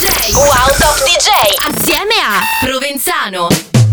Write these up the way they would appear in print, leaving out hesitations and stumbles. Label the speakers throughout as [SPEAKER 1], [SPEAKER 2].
[SPEAKER 1] DJ. Wow Top DJ. Assieme a Provenzano.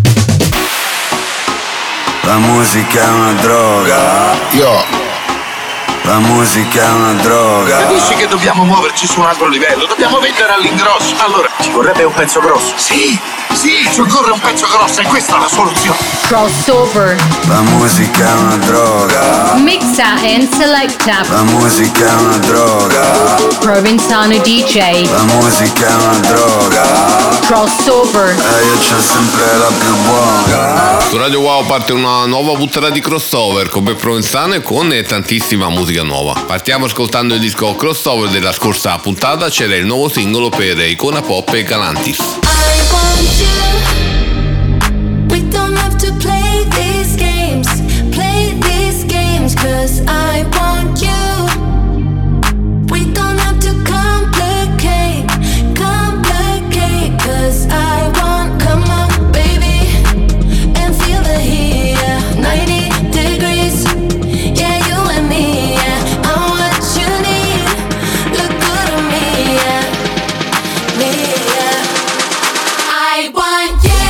[SPEAKER 2] La musica è una droga. La musica è una droga.
[SPEAKER 3] Capisci che dobbiamo muoverci su un altro livello? Dobbiamo vendere all'ingrosso. Allora, ci vorrebbe un pezzo grosso. Sì, ci occorre un pezzo grosso e questa è la soluzione.
[SPEAKER 4] Crossover.
[SPEAKER 2] La musica è una droga.
[SPEAKER 4] Mixa and selecta.
[SPEAKER 2] La musica è una droga.
[SPEAKER 4] Provenzano DJ.
[SPEAKER 2] La musica è una droga.
[SPEAKER 4] Crossover.
[SPEAKER 2] E io c'ho sempre la più buona.
[SPEAKER 5] Su Radio Wow parte una nuova puntata di crossover con me Provenzano e con tantissima musica nuova. Partiamo ascoltando il disco Crossover della scorsa puntata, c'era il nuovo singolo per Icona Pop e Galantis.
[SPEAKER 6] We don't have to play these games, 'cause I want you. We don't have to complicate, 'cause I want, come on baby, and feel the heat, yeah, 90 degrees, yeah, you and me, yeah, I'm what you need, look good on me, yeah, me, yeah, I want you.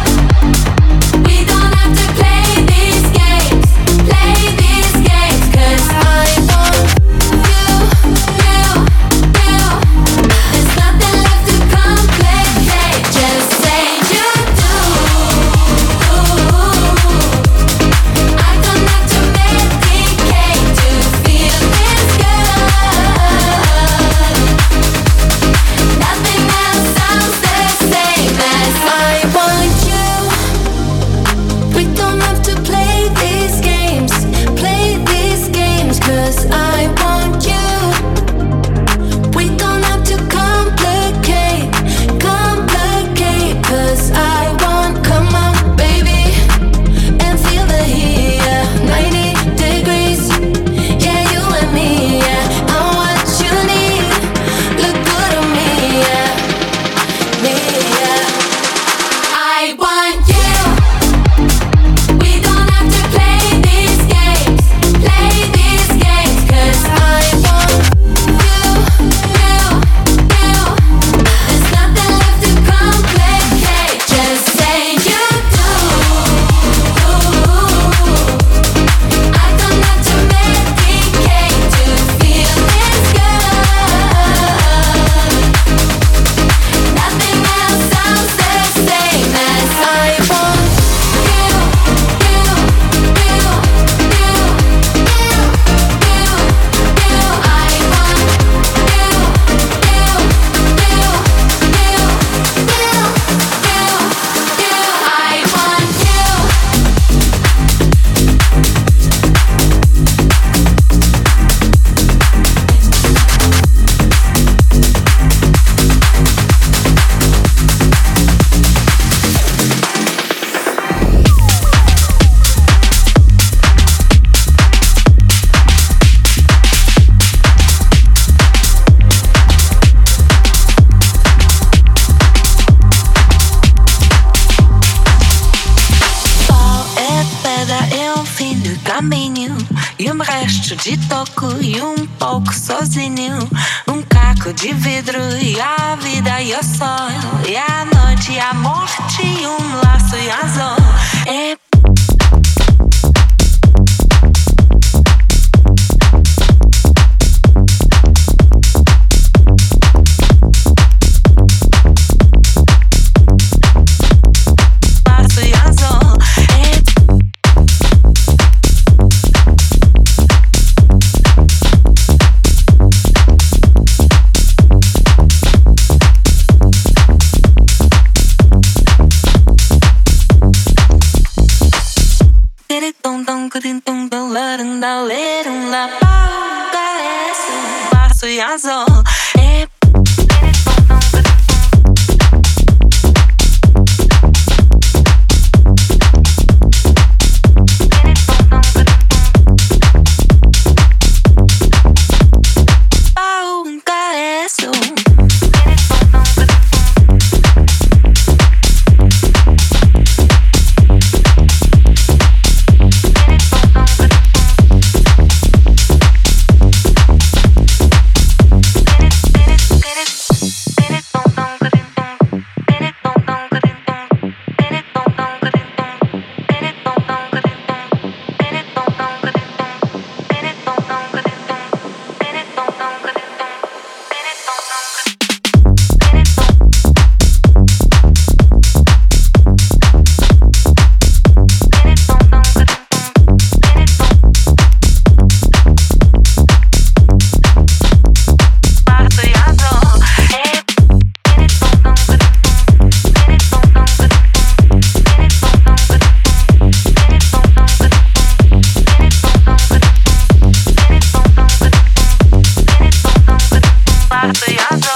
[SPEAKER 7] De toco e pouco sozinho. Caco de vidro e a vida e o sol. E a noite e a morte e laço e azul.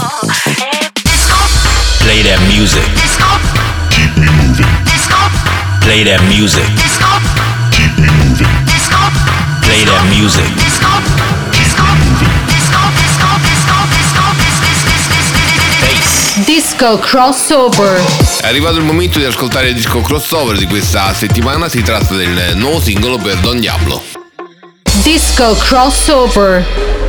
[SPEAKER 8] Play that music. Keep me moving. Play that music. Keep me moving. Play that music.
[SPEAKER 4] Disco crossover.
[SPEAKER 5] È arrivato il momento di ascoltare il disco crossover di questa settimana, si tratta del nuovo singolo per Don Diablo.
[SPEAKER 4] Disco crossover.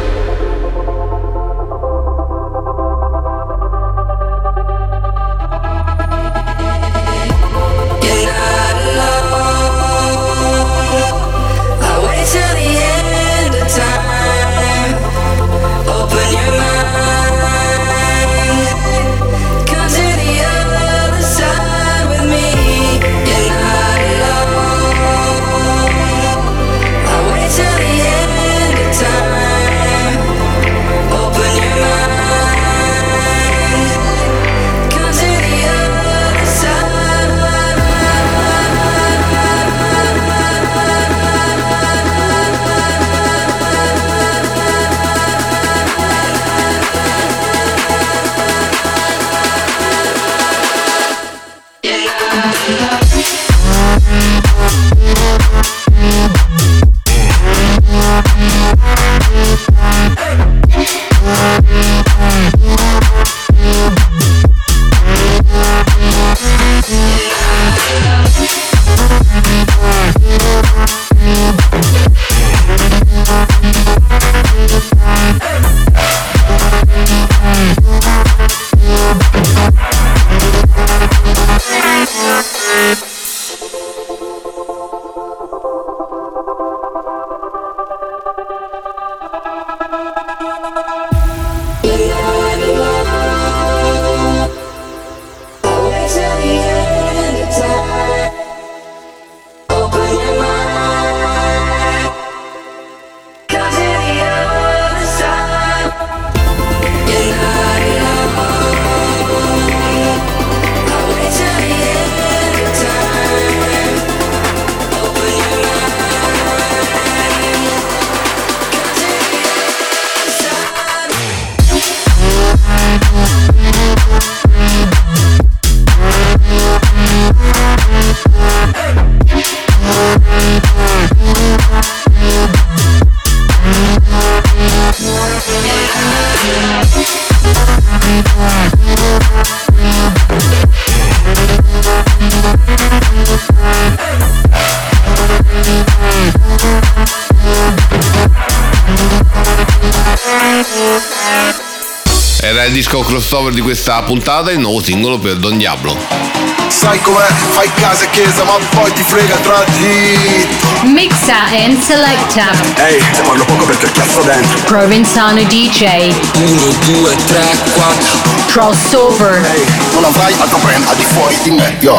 [SPEAKER 5] Era il disco crossover di questa puntata, il nuovo singolo per Don Diablo.
[SPEAKER 2] Sai com'è, fai casa e chiesa ma poi ti frega tra di.
[SPEAKER 4] Mixa and selecta.
[SPEAKER 2] Ehi, te parlo poco perché cazzo dentro.
[SPEAKER 4] Provenzano DJ.
[SPEAKER 9] 1, 2, 3, 4.
[SPEAKER 4] Crossover.
[SPEAKER 2] Ehi, non avrai altro brand al di fuori di me, yo.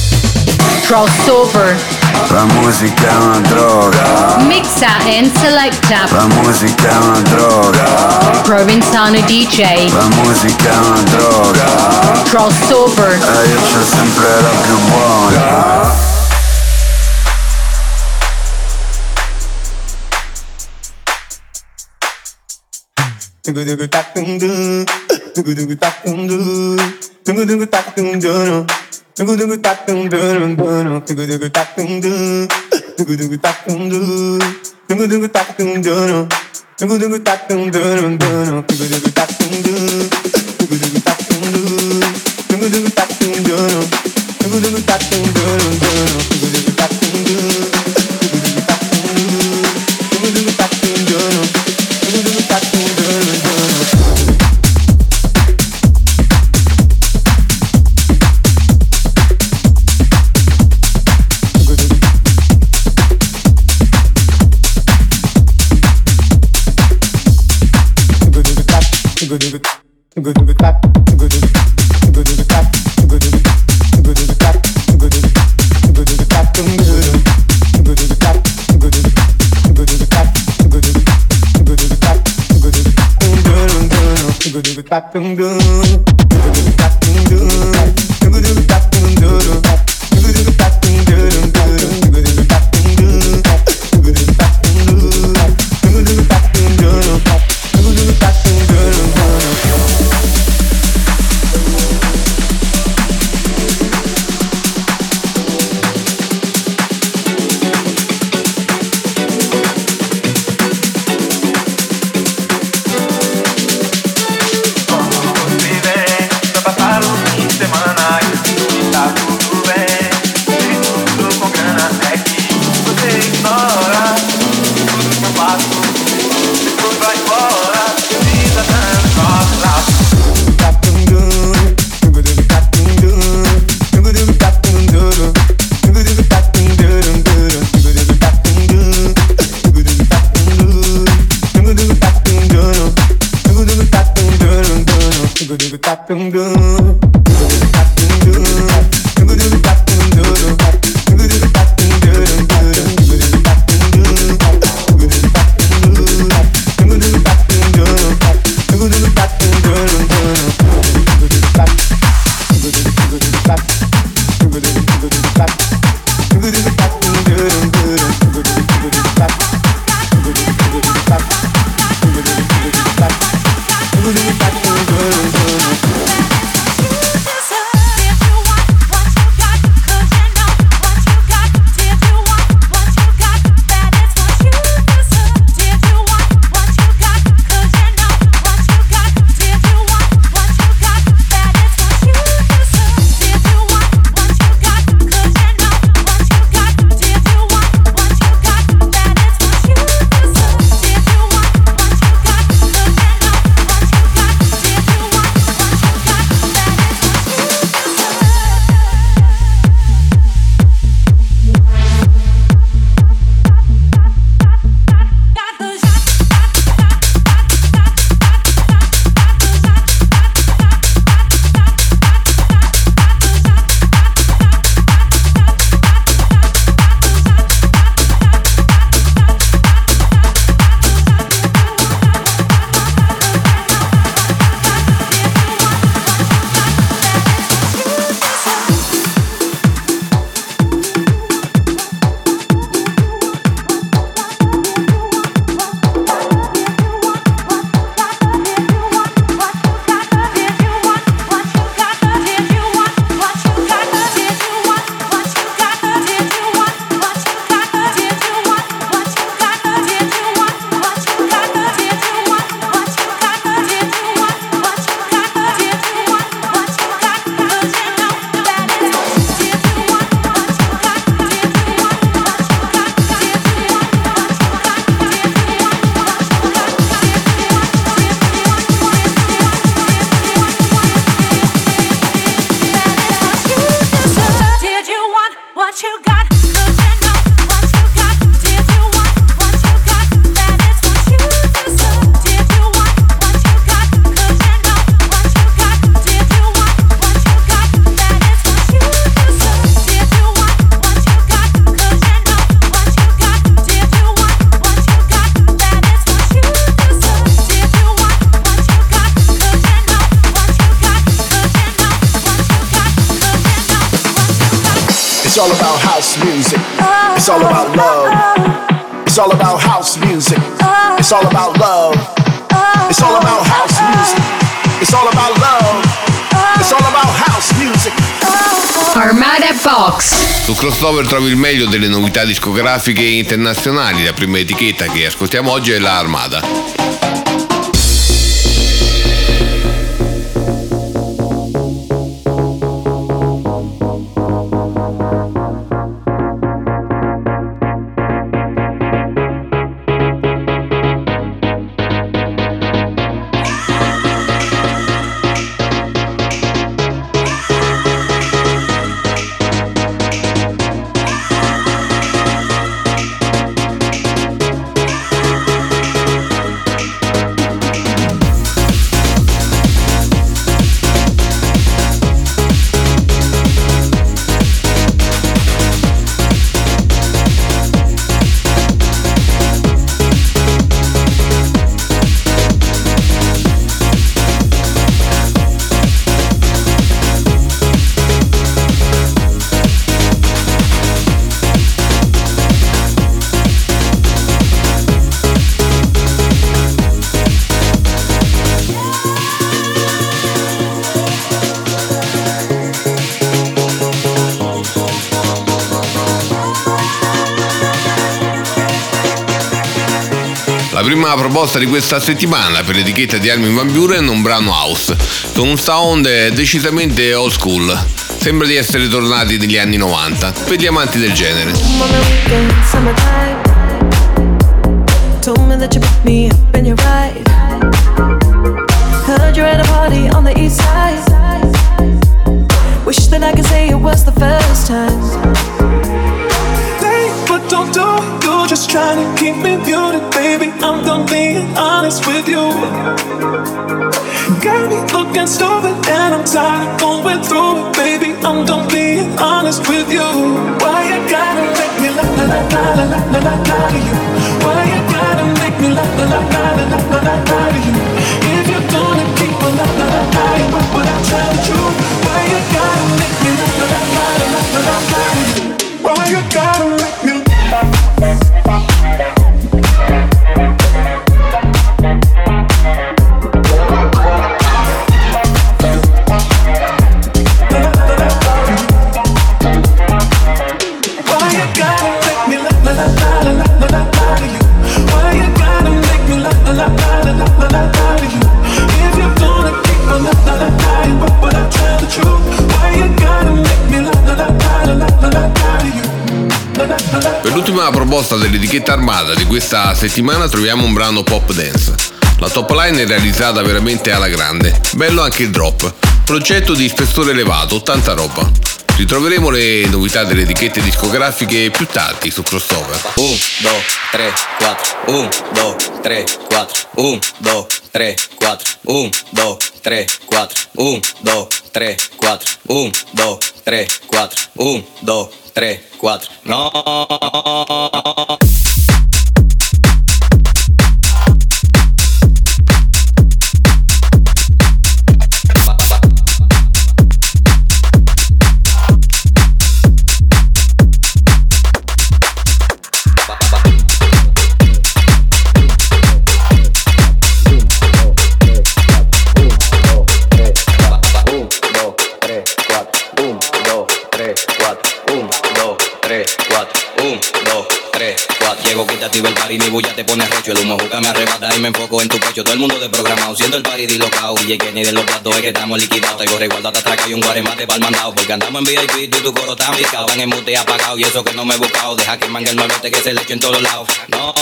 [SPEAKER 4] Crossover.
[SPEAKER 2] La musica è una droga.
[SPEAKER 4] Mixa and selecta.
[SPEAKER 2] La musica è una droga.
[SPEAKER 4] Provenzano DJ.
[SPEAKER 2] La musica è una droga.
[SPEAKER 4] Crossover.
[SPEAKER 2] E io c'ho sempre la più buona.
[SPEAKER 10] It's all about house music. It's all about love. It's all about house music. It's all about love. It's all about house music. It's all about love. It's all about house music.
[SPEAKER 4] Armada Box.
[SPEAKER 5] Su Crossover trovi il meglio delle novità discografiche internazionali. La prima etichetta che ascoltiamo oggi è la Armada. La prima proposta di questa settimana per l'etichetta di Armin van Buuren è un brano house, con un sound decisamente old school. Sembra di essere tornati negli anni 90, per gli amanti del genere.
[SPEAKER 11] gon' do? You just trying to keep me muted, baby. I'm done being honest with you. Got me looking stupid and I'm tired of going through it, baby. I'm done being honest with you. Why you gotta make me la la la la la la la la to you? Why you gotta make me la la la la la la la la to you? If you're gonna keep a la la la la, what would I tell you? Why you gotta make me la la la la la la la la to you? Why you gotta make me
[SPEAKER 5] Per l'ultima proposta dell'etichetta Armada di questa settimana troviamo un brano pop dance. La top line è realizzata veramente alla grande, bello anche il drop, progetto di spessore elevato, tanta roba. Ritroveremo le novità delle etichette discografiche più tardi su Crossover.
[SPEAKER 12] 1, 2, 3, 4, 1, 2, 3, 4, 1, 2, 3, 4, 1, 2, 3, 4, 1, 2, 3, 4, 1, 2, 3, 4, 1, 2, 3, 4, no. Llego, quítate el party, mi bulla te pone recho. El humo juca me arrebata y me enfoco en tu pecho. Todo el mundo desprogramado, siendo el party dislocado. Y que ni de los platos es que estamos liquidados. Te corre igual, te atraca y un guaremate pa'l mandado. Porque andamos en VIP y tu coro está picado. Van en mute apagado y eso que no me he buscado. Deja que mangue el nuevete que se le eche en todos lados. No.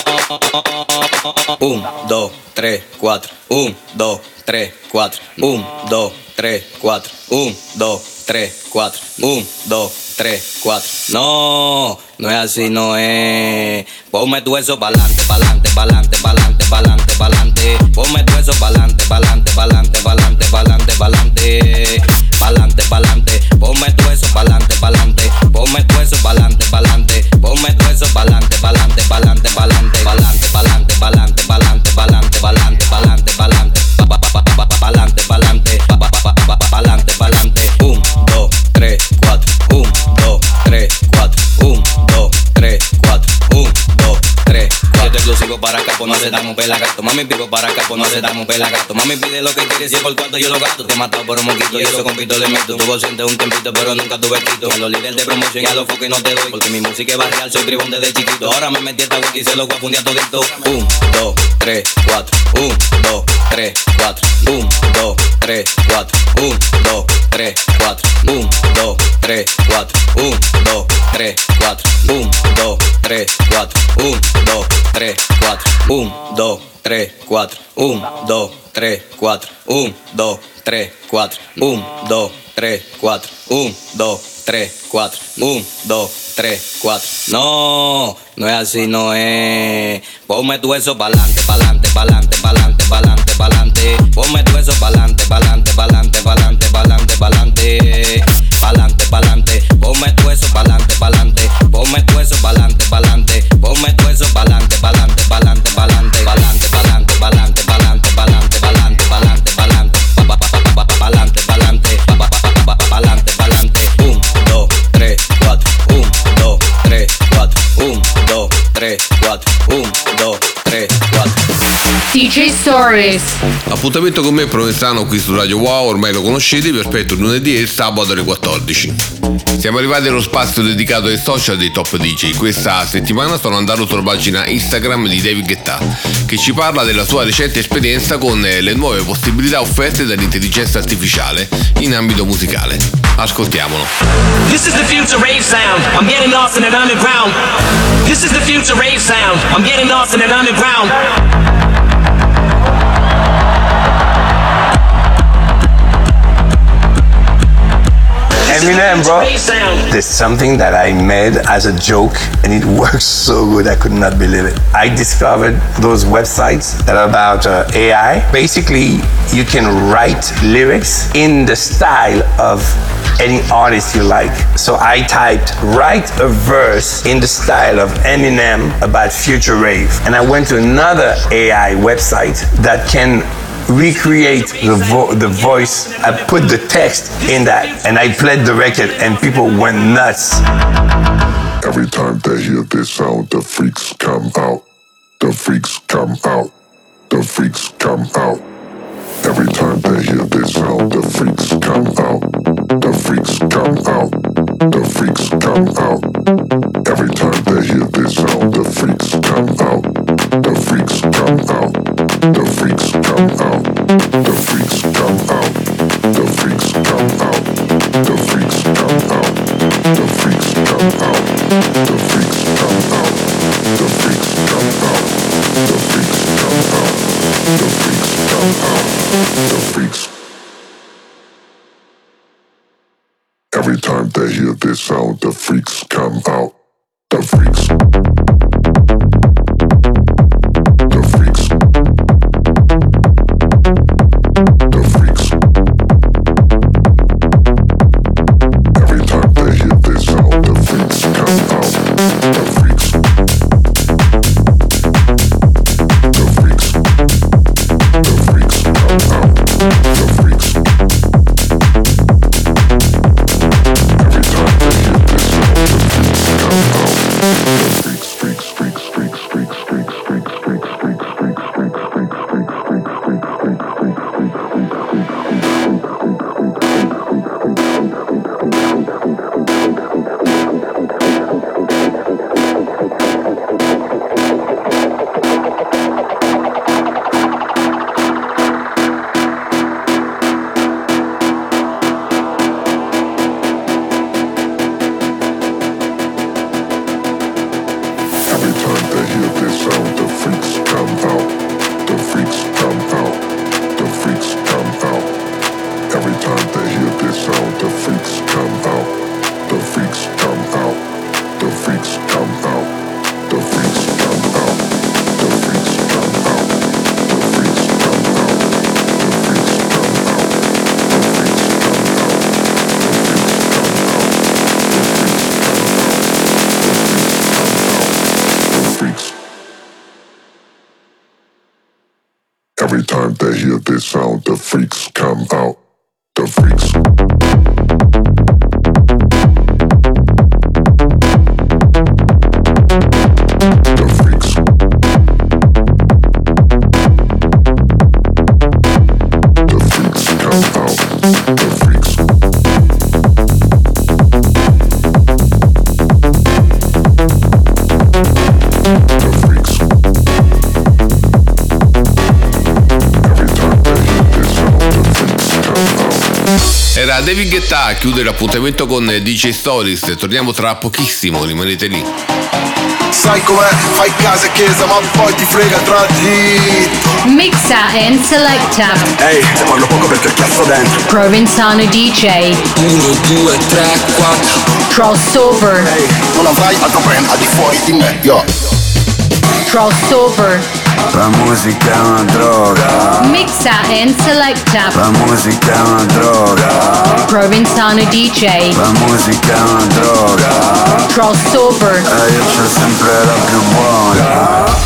[SPEAKER 12] 1, 2, 3, 4. 1, 2, 3, 4. 1, 2, 3, 4. 1, 2, 3, 4. 1, 2, 3, 4. No, no es así, no es. Ponme tu eso pa'lante, pa'lante, pa'lante, pa'lante, pa'lante, pa'lante. Ponme tu eso pa'lante, pa'lante, pa'lante, pa'lante, pa'lante, pa'lante. Pa'lante, pa'lante. Ponme tu eso pa'lante, pa'lante. Ponme tu eso pa'lante, pa'lante. Ponme tu eso pa'lante, pa'lante, pa'lante, pa'lante, pa'lante, pa'lante, pa'lante, pa'lante, pa'lante, pa'lante, pa'lante, pa'lante, pa'lante, pa'lante, pa'lante, pa'lante. 1, 2, 3, 4. 1, 2, 3, 4. 1, 2, 3, 4. 1, 2, 3, 4. Esto exclusivo para acá, pues no aceptamos pelagato. Mami, pico para acá, pues no aceptamos pelagato. Mami, pide lo que quieres, si es por cuarto yo lo gasto. Te he matado por un moquito y eso con pito le meto. Tuvo ausente un tiempito, pero nunca tuve quito. A los líderes de promoción y a los focos no te doy. Porque mi música es barrial, soy tribón desde chiquito. Ahora me metí esta wiki y se lo voy a fundir a todito. 1, 2, 3, 4. 1, 2, 3, 4. 1, 2, 3, 4. 1, 2, 3, 4. 1, 2, 3, 4. 1, 2, 3, 4. 1, 2, 3, 4. 1, 2, 3, 4. 1, 2, 3, 4. 1, 2, 3, 4. 1, 2, 3, 4. 1, 2, 3, 4. 1, 2, 3, 4. 1, 2, 3, 4. No, no es así, no es. Ponme tu eso pa'lante, pa'lante, pa'lante, pa'lante, pa'lante, pa'lante. Ponme tu eso pa'lante, pa'lante, pa'lante, pa'lante, pa'lante, pa'lante. Pa'lante, pa'lante. Ponme tu eso pa'lante, pa'lante. Ponme tu eso pa'lante, pa'lante. Ponme tu eso pa'lante, pa'lante, pa'lante, pa'lante, pa'lante, pa'lante, pa'lante, pa'lante, pa'lante, pa'lante, pa'lante, pa'lante, pa'lante, pa'lante, pa'lante. 1, 2, 3, 4. 1, 2, 3, 4. 1, 2, 3, 4. 1, 2, 3, 4.
[SPEAKER 4] DJ Stories.
[SPEAKER 5] Appuntamento con me Provenzano qui su Radio Wow, ormai lo conoscete, vi aspetto il lunedì e il sabato alle 14. Siamo arrivati allo spazio dedicato ai social dei top DJ. Questa settimana sono andato sulla pagina Instagram di David Guetta, che ci parla della sua recente esperienza con le nuove possibilità offerte dall'intelligenza artificiale in ambito musicale. Ascoltiamolo.
[SPEAKER 13] This is the future rave sound. I'm getting lost in an underground. This is the future rave sound. I'm getting lost in an underground.
[SPEAKER 14] And Eminem, bro. There's something that I made as a joke and it works so good, I could not believe it. I discovered those websites that are about AI. Basically, you can write lyrics in the style of any artist you like. So I typed, write a verse in the style of Eminem about future rave. And I went to another AI website that can recreate the voice. I put the text in that and I played the record and people went nuts.
[SPEAKER 15] Every time they hear this sound, the freaks come out. The freaks come out. The freaks come out. Every time they hear this sound, the freaks come out. The freaks come out. The freaks come out. Every time they hear this sound, the freaks come out. The freaks come out. The freaks come out. The freaks come out. The freaks come out. The freaks come out. The freaks come out. The freaks come out. The freaks come out. The freaks come out. The freaks come out. The freaks. Every time they hear this sound, the freaks come out. The freaks. The freaks. The freaks. Every time they hear this sound, the freaks come out. The freaks. The freaks. The freaks come out. The freaks. Every time they hear this sound, the freaks come out. The freaks, freaks, freaks, freaks, freaks, freaks, freaks, freaks, freaks, freaks, freaks, freaks, freaks, freaks, freaks, freaks, freaks, Every time they hear this sound, the freaks come out. The freaks come out. The freaks come out. Every time they hear this sound, the freaks come out. The freaks come out. The freaks come out. The freaks come out. The freaks come out. The freaks come out. The freaks come out. The freaks come out. The freaks come out. Every time they hear this sound, the freaks come out. The freaks. The freaks. The freaks come out. The freaks. The freaks.
[SPEAKER 5] Era David Guetta a chiudere l'appuntamento con DJ Stories. Torniamo tra pochissimo, rimanete lì.
[SPEAKER 10] Sai com'è, fai casa e chiesa ma poi ti frega tra dritto.
[SPEAKER 4] Mixa and selecta.
[SPEAKER 10] Ehi, te parlo poco perché il cazzo dentro.
[SPEAKER 4] Provenzano DJ.
[SPEAKER 9] 1, 2, 3, 4.
[SPEAKER 4] Crossover.
[SPEAKER 10] Ehi, non avrai altro brand al di fuori di me, yo.
[SPEAKER 4] Crossover.
[SPEAKER 2] La musica è una droga.
[SPEAKER 4] Mixa and selecta.
[SPEAKER 2] La musica è una droga.
[SPEAKER 4] Provenzano DJ.
[SPEAKER 2] La musica è una droga.
[SPEAKER 4] Crossover.
[SPEAKER 2] E io c'ho sempre la più buona.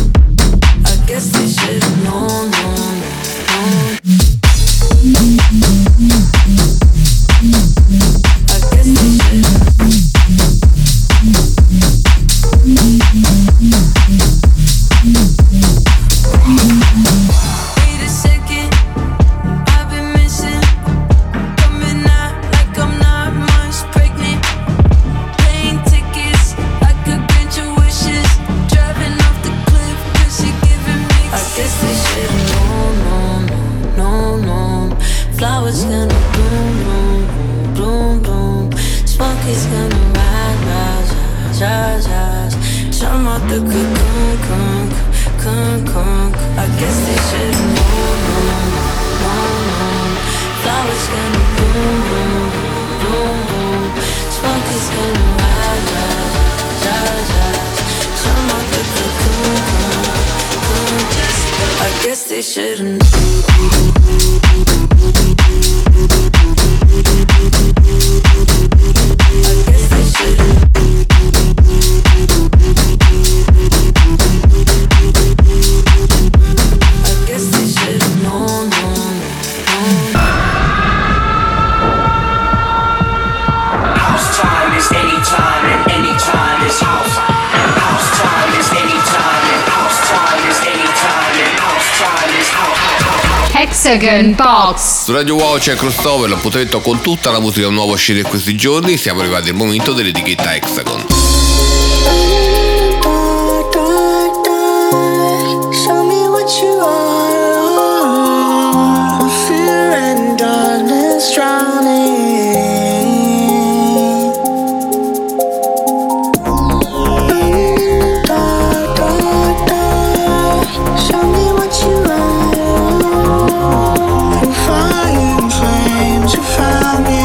[SPEAKER 6] No. out the conk. I guess they should've known. Flowers gonna bloom. Smoke is gonna rise. Come out the cocoon. I guess they should've
[SPEAKER 4] Hexagon Box.
[SPEAKER 5] Su Radio Wow c'è Crossover, l'appuntamento con tutta la musica nuova uscita in questi giorni. Siamo arrivati al momento dell'etichetta Hexagon.
[SPEAKER 6] show me what you are. Fear and darkness drowning. Show me what you are. Flying flames, you found me.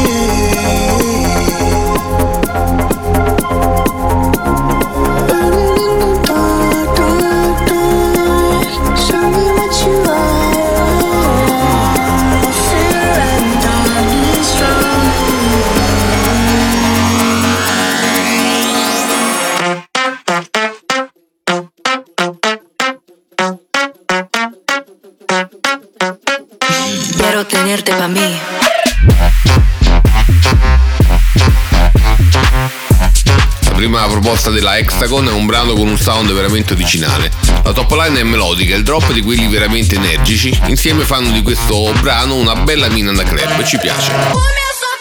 [SPEAKER 6] Quiero tenerte pa' mí.
[SPEAKER 5] La prima proposta della Hexagon è un brano con un sound veramente originale. La top line è melodica, il drop di quelli veramente energici. Insieme fanno di questo brano una bella mina da club, ci piace.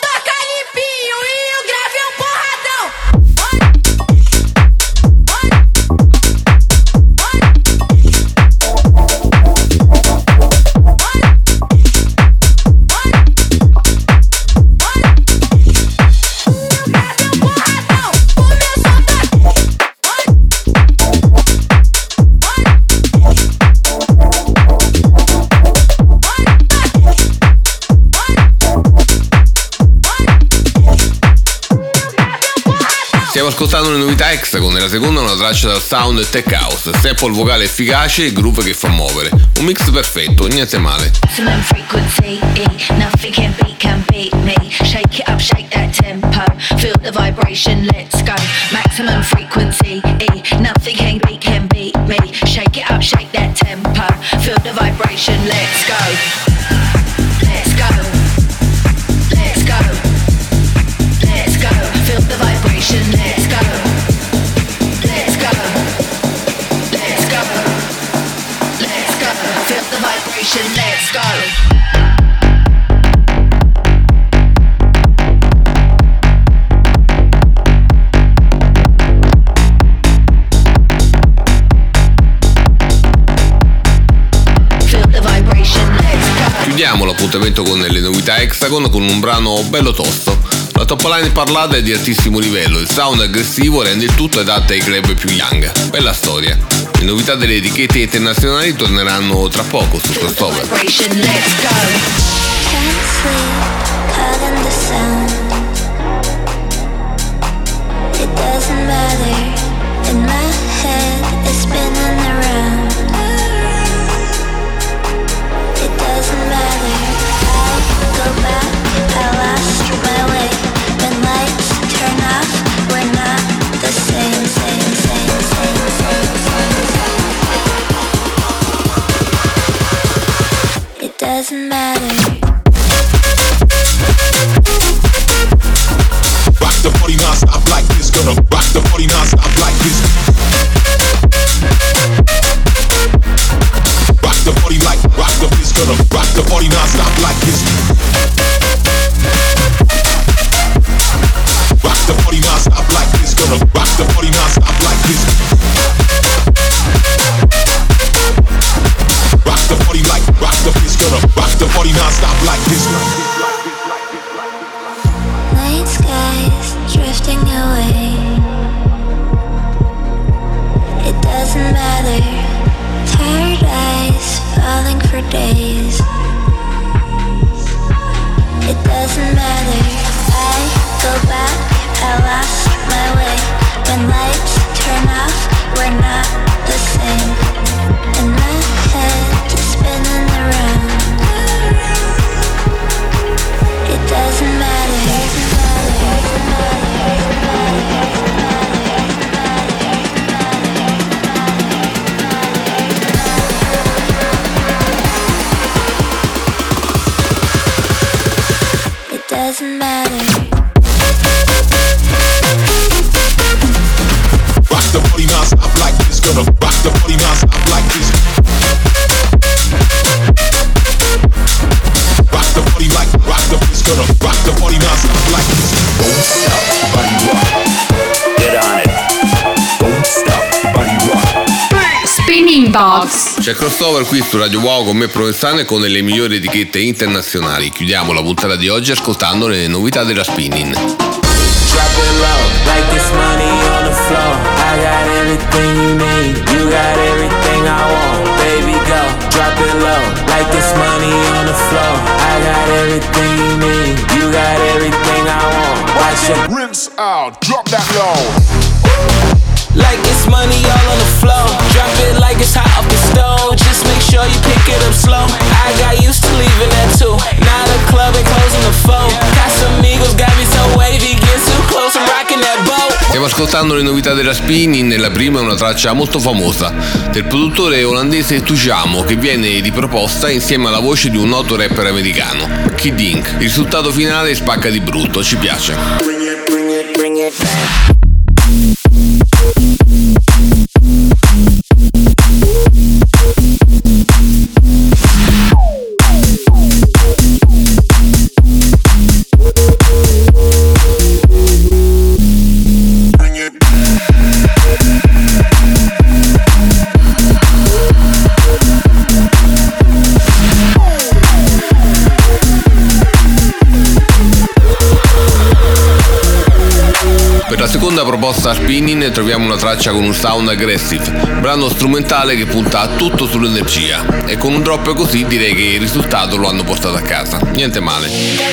[SPEAKER 5] Stiamo ascoltando le novità Hexagon, e la seconda è una traccia dal sound tech house, sample vocale efficace e groove che fa muovere. Un mix perfetto, niente male.
[SPEAKER 16] Maximum frequency, nothing can beat me. Shake it up, shake that tempo. Feel the vibration, let's go. Maximum frequency, nothing can beat me. Shake it up, shake that tempo. Feel the vibration, let's go. Let's go. Let's go. Let's go. Feel the vibration, let's go. Let's go. Let's go. Let's go. Feel the vibration, let's go.
[SPEAKER 5] Chiudiamo l'appuntamento con le novità Hexagon con un brano bello tosto. La top line parlata è di altissimo livello, il sound aggressivo rende il tutto adatto ai club più young. Bella storia. Le novità delle etichette internazionali torneranno tra poco su Crossover.
[SPEAKER 6] Doesn't matter. for days. It doesn't matter. I go back, I lost my way. When lights turn off, we're not the same. And my head is spinning around. It doesn't matter. It doesn't matter.
[SPEAKER 3] Rock the body non-stop like this, gonna rock the body non-stop like this. Rock the body like, rock the this, gonna rock the body non-stop like this. Don't stop, body rock. Get on it. Don't stop, body rock.
[SPEAKER 4] Spinning Box.
[SPEAKER 5] C'è crossover qui su Radio Wow con me Provenzano e con le migliori etichette internazionali. Chiudiamo la puntata di oggi ascoltando le novità della Spinnin'.
[SPEAKER 17] Drop it low, like this money on the floor. I got everything you need, you got everything I want. Baby, go, drop it low, like this money on the floor. I got everything you need, you got everything I want. Watch it
[SPEAKER 3] rinse out, drop that low.
[SPEAKER 17] like it's money all on the floor. Drop it like it's hot off the stove. Just make sure you pick it up slow. I got used to leaving at 2. Now the club ain't closing the 4. Casamigos got me so wavy, get too close, I'm rocking that boat.
[SPEAKER 5] Stiamo ascoltando le novità della Spinnin'. La prima è una traccia molto famosa del produttore olandese Tujamo, che viene riproposta insieme alla voce di un noto rapper americano, Kid Ink. Il risultato finale spacca di brutto, ci piace.
[SPEAKER 17] Bring it back.
[SPEAKER 5] Seconda proposta a Spinnin' troviamo una traccia con un sound aggressive, brano strumentale che punta tutto sull'energia, e con un drop così direi che il risultato lo hanno portato a casa, niente male.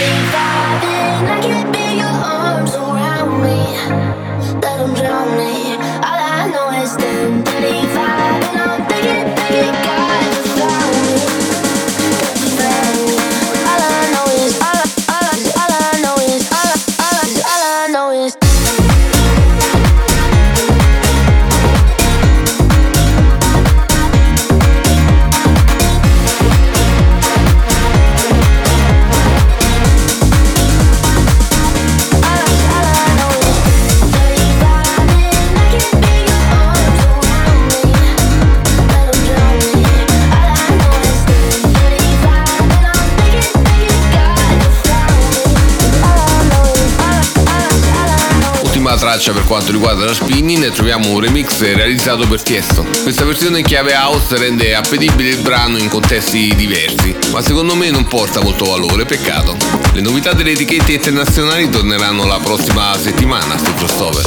[SPEAKER 5] Traccia per quanto riguarda la Spinnin', troviamo un remix realizzato per Tiesto. Questa versione in chiave house rende appetibile il brano in contesti diversi, ma secondo me non porta molto valore, peccato. Le novità delle etichette internazionali torneranno la prossima settimana su Crossover.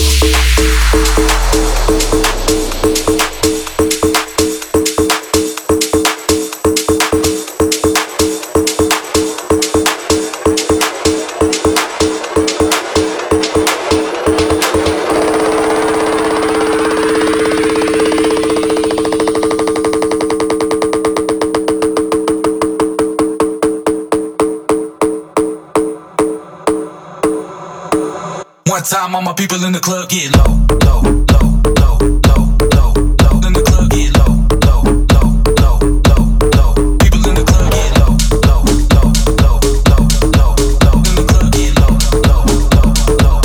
[SPEAKER 11] One time all my people in the club get low, low, low, low, low, low, low. In the club get low, low, low, low, low, low. People in the club get low, low, low, low, low, low, low. In the club get low, low, low, low,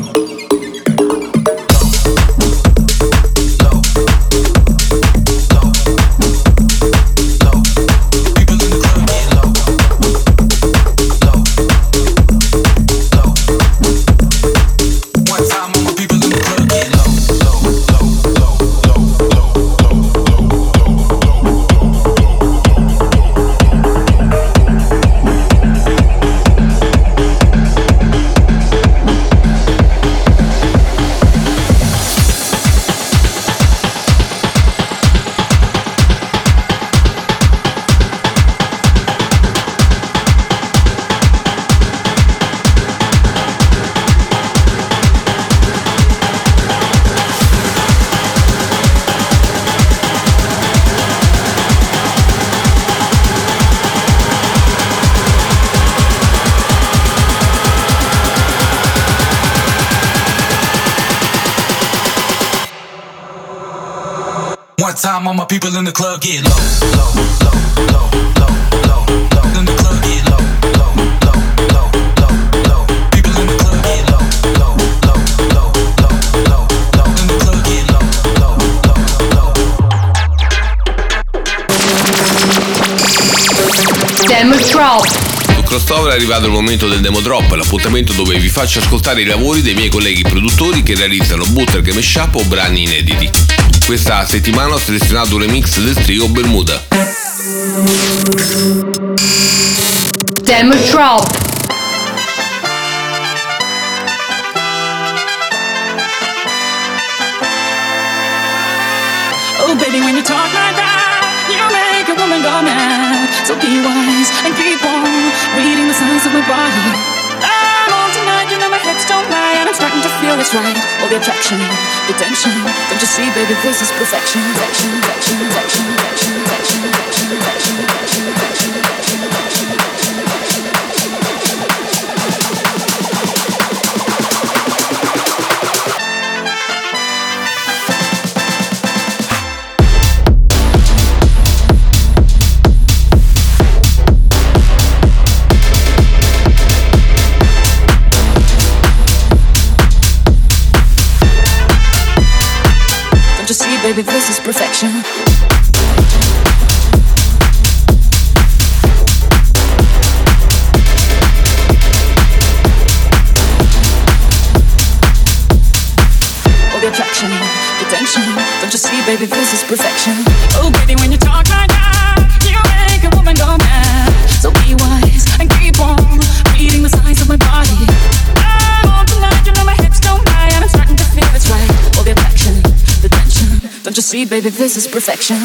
[SPEAKER 11] low, low. People in the club get low, low, low. One time all my people in the club get low.
[SPEAKER 18] one time, all my people in the club get low, low, low, low, low, low, low. In the club get low, low, low, low, low, low. People in the club get low, low, low, low, low, low, low. In the club get low, low, low, low.
[SPEAKER 4] Demo Drop.
[SPEAKER 5] Crossover è arrivato il momento del Demo Drop, l'appuntamento dove vi faccio ascoltare i lavori dei miei colleghi produttori che realizzano bootleg e mashup o brani inediti. Questa settimana ho selezionato un remix del trio Bermuda.
[SPEAKER 4] Demo Drop.
[SPEAKER 19] Oh baby, when you talk like that, you make a woman go mad. So be wise and keep on reading the signs of my body. I'm on tonight, you know my hips don't lie, and I'm starting to feel it's right. All the attraction, the tension. Don't you see, baby, this is perfection. Perfection, perfection, perfection, perfection, perfection, perfection, perfection, perfection, perfection, perfection, baby, this is perfection. All the attraction, the tension. Don't you see, baby, this is perfection. Oh, baby, when you talk like that, you make a woman go mad. So be wise and keep on reading the signs of my body. I'm on tonight, you know my hips don't lie, and I'm starting to feel it's right. All the attraction, the tension. Don't you see, baby, this is perfection.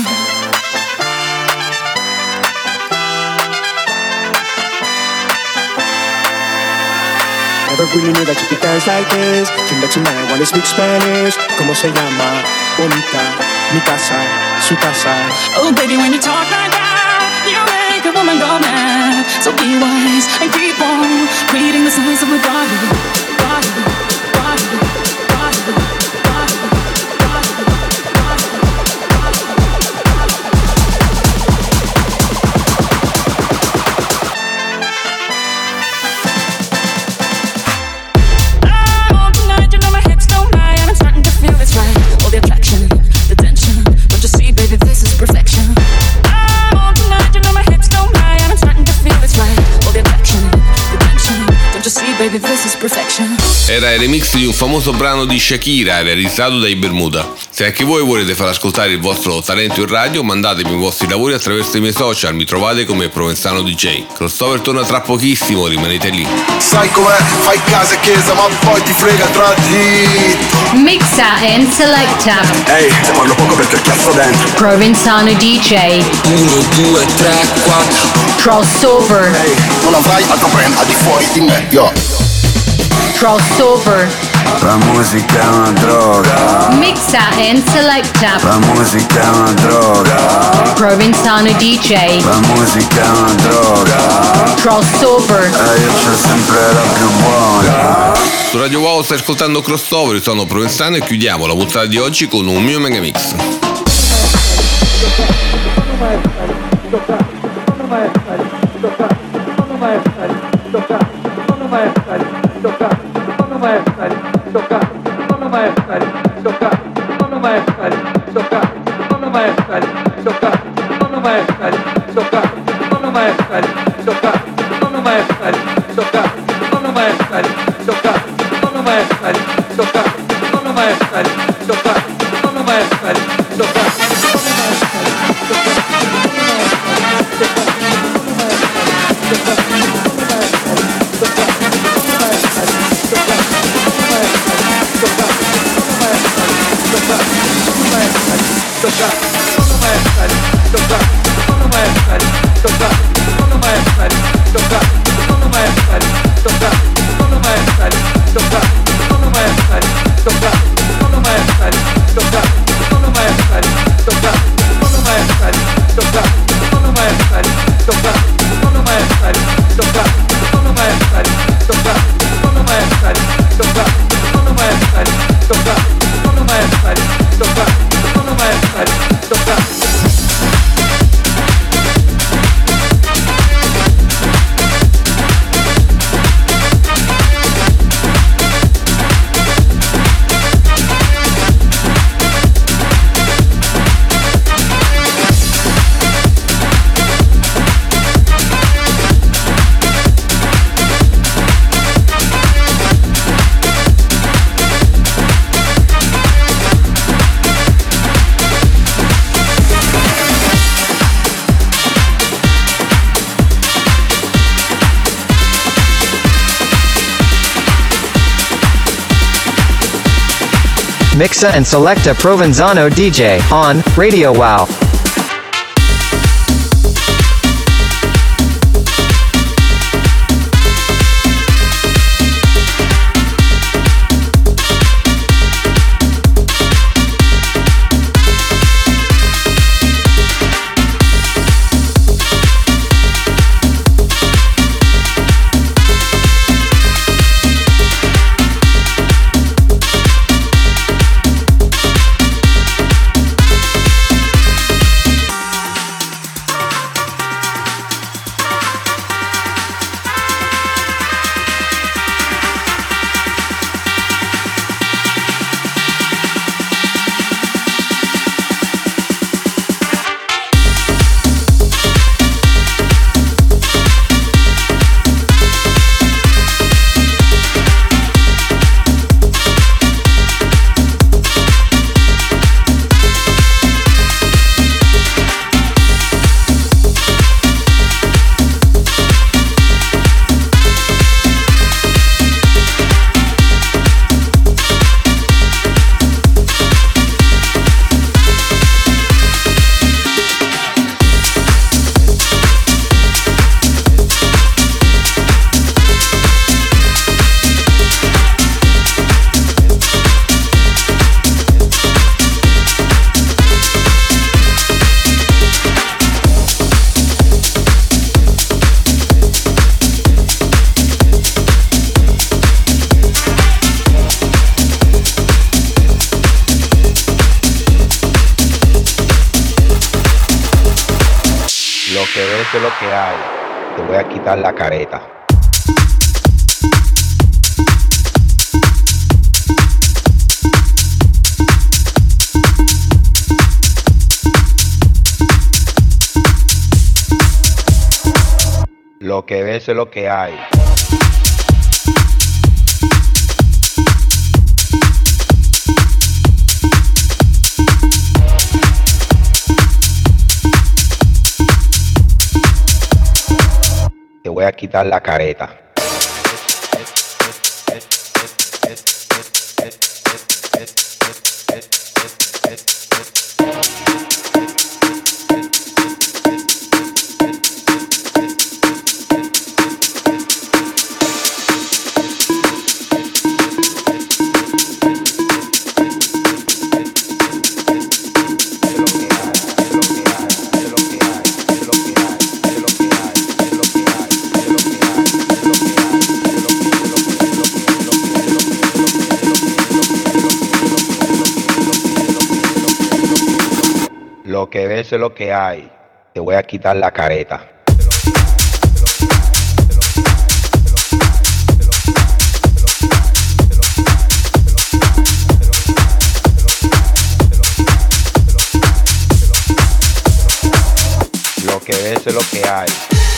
[SPEAKER 20] Never really knew that you could dance like this. Came back tonight, wanna speak Spanish. ¿Cómo se llama? Bonita, mi casa, su casa.
[SPEAKER 19] Oh baby, when you talk like that, you make a woman go mad. So be wise and keep on reading the signs of my body. Body, body, body, body.
[SPEAKER 5] Era il remix di un famoso brano di Shakira realizzato dai Bermuda. Se anche voi volete far ascoltare il vostro talento in radio, mandatemi i vostri lavori attraverso i miei social, mi trovate come Provenzano DJ. Crossover torna tra pochissimo, rimanete lì.
[SPEAKER 10] Sai com'è, fai casa e chiesa ma poi ti frega tra dritto.
[SPEAKER 4] Mixa and selecta.
[SPEAKER 10] Ehi, te parlo poco perché ho chiasso dentro.
[SPEAKER 4] Provenzano DJ.
[SPEAKER 9] 1, 2, 3, 4.
[SPEAKER 4] Crossover.
[SPEAKER 10] Ehi, non avrai altro brand al di fuori di me, yo.
[SPEAKER 4] Crossover.
[SPEAKER 2] La musica è una droga.
[SPEAKER 4] Mixa and selecta.
[SPEAKER 2] La musica è una droga.
[SPEAKER 4] Provenzano DJ.
[SPEAKER 2] La musica è una droga.
[SPEAKER 4] Crossover.
[SPEAKER 2] E io c'ho sempre la più buona.
[SPEAKER 5] Su Radio Wow stai ascoltando Crossover, sono Provenzano e chiudiamo la puntata di oggi con un mio mega mix.
[SPEAKER 10] Stop.
[SPEAKER 21] Mixa and Selecta Provenzano DJ on Radio Wow.
[SPEAKER 22] Eso es lo que hay. Te voy a quitar la careta. Lo que ves es lo que hay. Te voy a quitar la careta. Lo que ves es lo que hay. Te voy a quitar la careta. Lo que ves es lo que hay.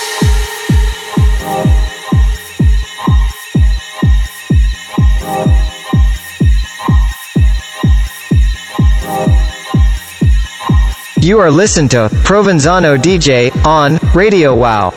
[SPEAKER 21] You are listening to Provenzano DJ on Radio Wow.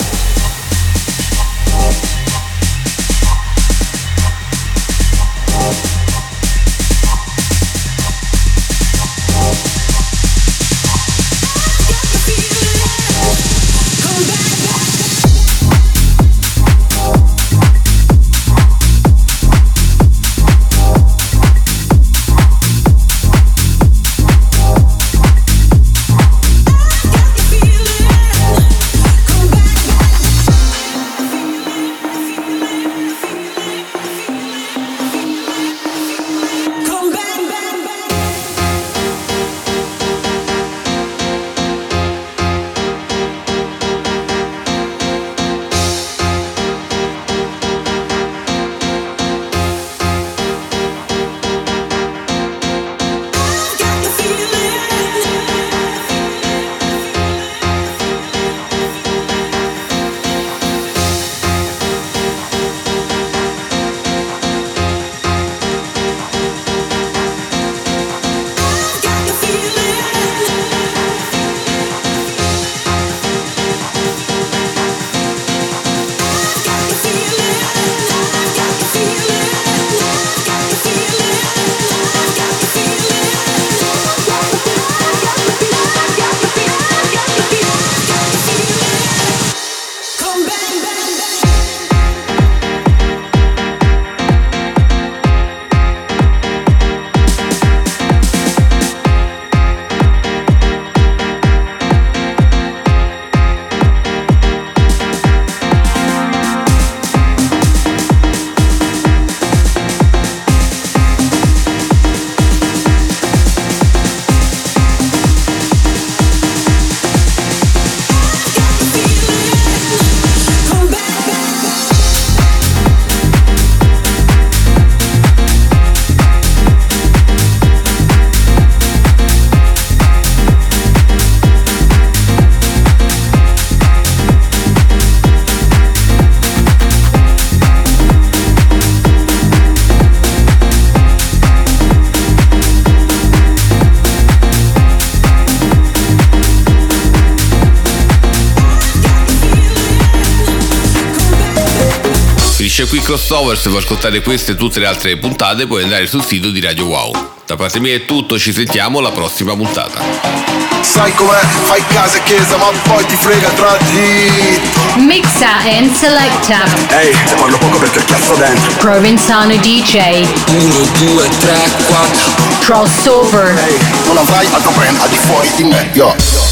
[SPEAKER 5] Finisce qui Crossover. Se vuoi ascoltare queste e tutte le altre puntate puoi andare sul sito di Radio Wow. Da parte mia è tutto, ci sentiamo alla prossima puntata.
[SPEAKER 10] Sai com'è, fai casa e chiesa ma poi ti frega tra di.
[SPEAKER 4] Mixa and selecta.
[SPEAKER 10] Ehi, se parlo poco perché cazzo dentro.
[SPEAKER 4] Provenzano DJ.
[SPEAKER 9] 1, 2, 3, 4.
[SPEAKER 4] Crossover.
[SPEAKER 10] Ehi, non avrai altro brand al di fuori di me, yo.